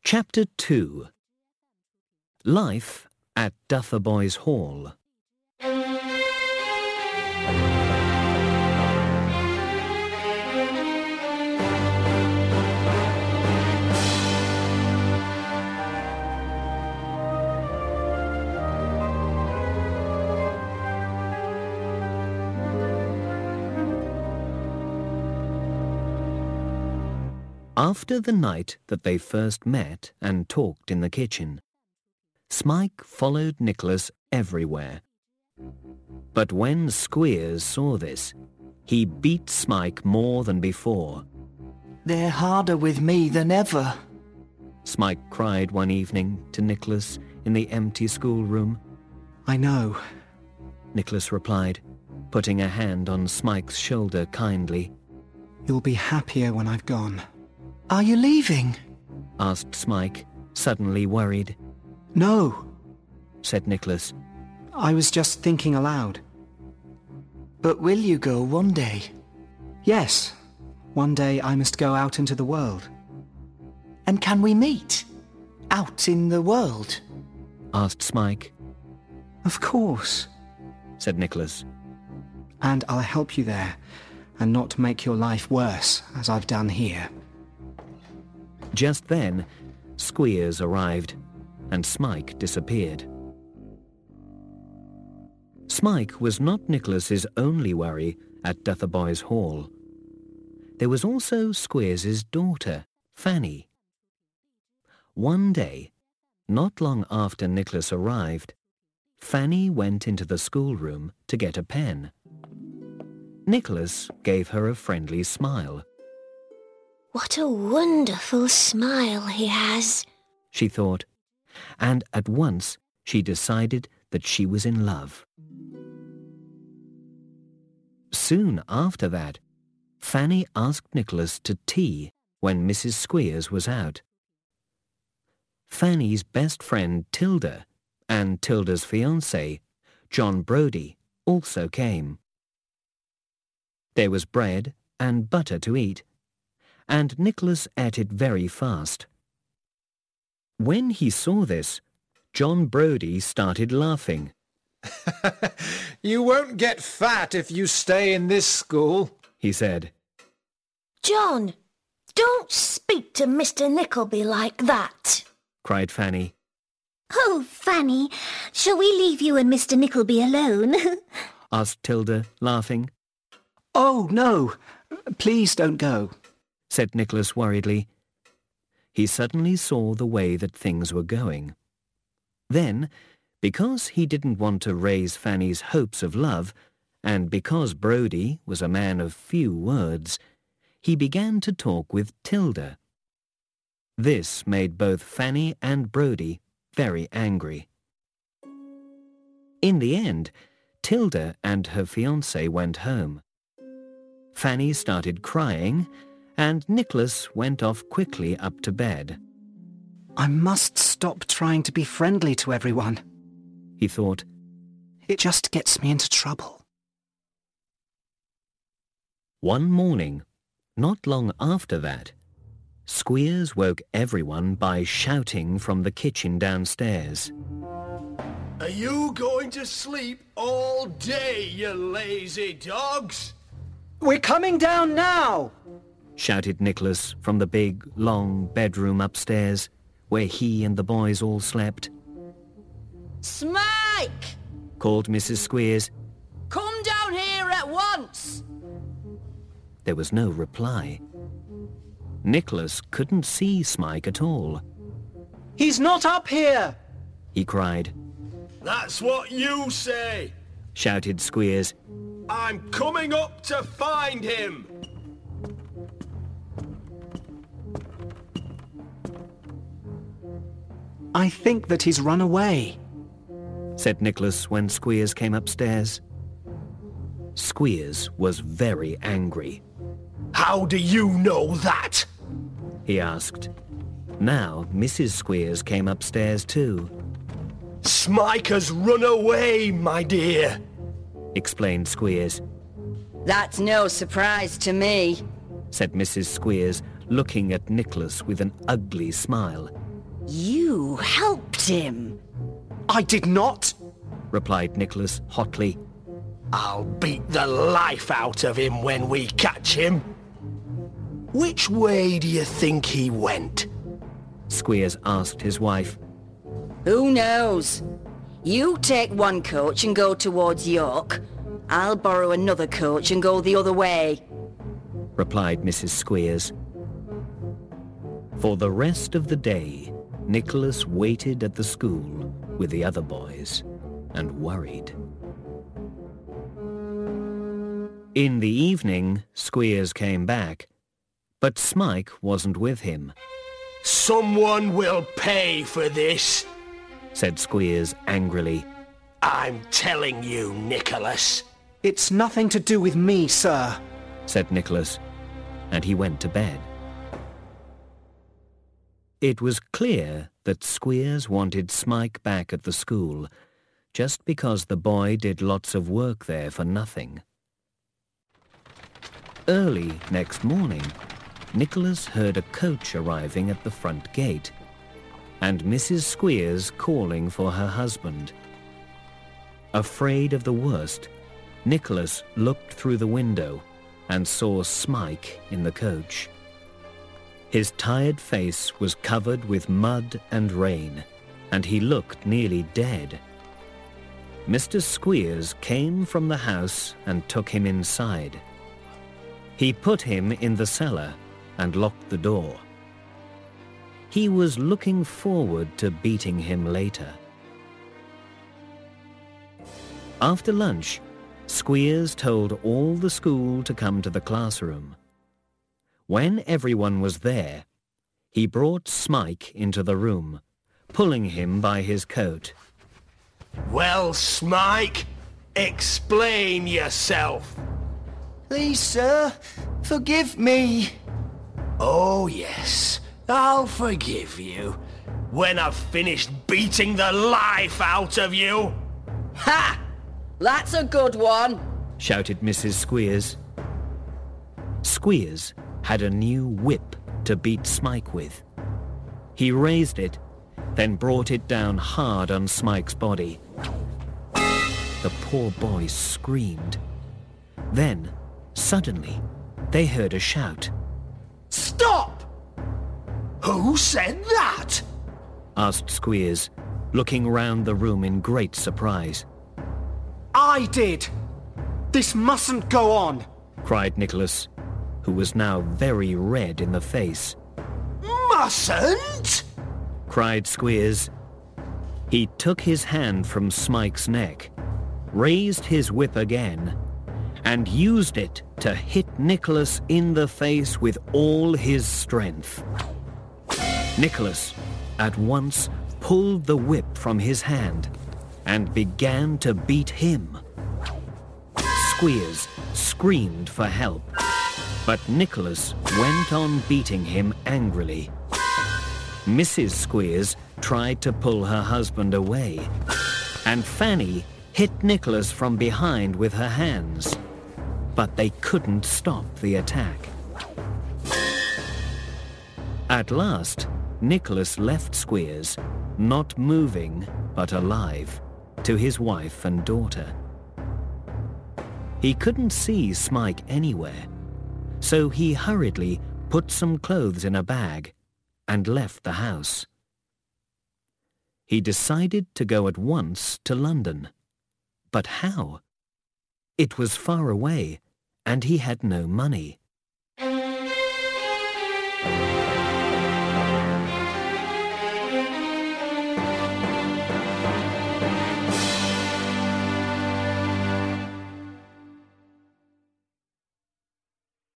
Chapter 2. Life at Dotheboys Hall. After the night that they first met and talked in the kitchen, Smike followed Nicholas everywhere. But when Squeers saw this, he beat Smike more than before. "They're harder with me than ever," Smike cried one evening to Nicholas in the empty schoolroom. "I know," Nicholas replied, putting a hand on Smike's shoulder kindly. "You'll be happier when I've gone." "Are you leaving?" asked Smike, suddenly worried. "No," said Nicholas. "I was just thinking aloud." "But will you go one day?" "Yes, one day I must go out into the world." "And can we meet? Out in the world?" asked Smike. "Of course," said Nicholas. "And I'll help you there, and not make your life worse, as I've done here." Just then, Squeers arrived, and Smike disappeared. Smike was not Nicholas's only worry at Dotheboys Hall. There was also Squeers's daughter, Fanny. One day, not long after Nicholas arrived, Fanny went into the schoolroom to get a pen. Nicholas gave her a friendly smile. "What a wonderful smile he has," she thought, and at once she decided that she was in love. Soon after that, Fanny asked Nicholas to tea when Mrs. Squeers was out. Fanny's best friend Tilda and Tilda's fiancé, John Brodie, also came. There was bread and butter to eat, and Nicholas ate it very fast. When he saw this, John Brodie started laughing. "You won't get fat if you stay in this school," he said. "John, don't speak to Mr. Nickleby like that," cried Fanny. "Oh, Fanny, shall we leave you and Mr. Nickleby alone?" asked Tilda, laughing. "Oh, no, please don't go," said Nicholas worriedly. He suddenly saw the way that things were going. Then, because he didn't want to raise Fanny's hopes of love, and because Brodie was a man of few words, he began to talk with Tilda. This made both Fanny and Brodie very angry. In the end, Tilda and her fiancé went home. Fanny started crying, and Nicholas went off quickly up to bed. "I must stop trying to be friendly to everyone," he thought. "It just gets me into trouble." One morning, not long after that, Squeers woke everyone by shouting from the kitchen downstairs. "Are you going to sleep all day, you lazy dogs?" "We're coming down now!" shouted Nicholas from the big, long bedroom upstairs, where he and the boys all slept. "Smike!" called Mrs. Squeers. "Come down here at once!" There was no reply. Nicholas couldn't see Smike at all. "He's not up here!" he cried. "That's what you say!" shouted Squeers. "I'm coming up to find him!" "I think that he's run away," said Nicholas when Squeers came upstairs. Squeers was very angry. "How do you know that?" he asked. Now Mrs. Squeers came upstairs too. "Smike has run away, my dear," explained Squeers. "That's no surprise to me," said Mrs. Squeers, looking at Nicholas with an ugly smile. You helped him. I did not. replied Nicholas hotly. I'll beat the life out of him when we catch him. Which way do you think he went? Squeers asked his wife. Who knows? You take one coach and go towards York. I'll borrow another coach and go the other way, replied Mrs. Squeers. For the rest of the day, Nicholas waited at the school with the other boys and worried. In the evening, Squeers came back, but Smike wasn't with him. Someone will pay for this, said Squeers angrily. I'm telling you, Nicholas. It's nothing to do with me, sir, said Nicholas, and he went to bed. It was clear that Squeers wanted Smike back at the school, just because the boy did lots of work there for nothing. Early next morning, Nicholas heard a coach arriving at the front gate, and Mrs. Squeers calling for her husband. Afraid of the worst, Nicholas looked through the window and saw Smike in the coach. His tired face was covered with mud and rain, and he looked nearly dead. Mr. Squeers came from the house and took him inside. He put him in the cellar and locked the door. He was looking forward to beating him later. After lunch, Squeers told all the school to come to the classroom. When everyone was there, he brought Smike into the room, pulling him by his coat. Well, Smike, explain yourself. Please, sir, forgive me. Oh, yes, I'll forgive you. When I've finished beating the life out of you. Ha! That's a good one, shouted Mrs. Squeers. Squeers had a new whip to beat Smike with. He raised it, then brought it down hard on Smike's body. The poor boy screamed. Then, suddenly, they heard a shout. Stop! Who said that? Asked Squeers, looking round the room in great surprise. I did. This mustn't go on, cried Nicholas, who was now very red in the face. Mustn't? Cried Squeers. He took his hand from Smike's neck, raised his whip again, and used it to hit Nicholas in the face with all his strength. Nicholas at once pulled the whip from his hand and began to beat him. Squeers screamed for help, but Nicholas went on beating him angrily. Mrs. Squeers tried to pull her husband away, and Fanny hit Nicholas from behind with her hands, but they couldn't stop the attack. At last, Nicholas left Squeers, not moving but alive, to his wife and daughter. He couldn't see Smike anywhere, so he hurriedly put some clothes in a bag and left the house. He decided to go at once to London. But how? It was far away, and he had no money.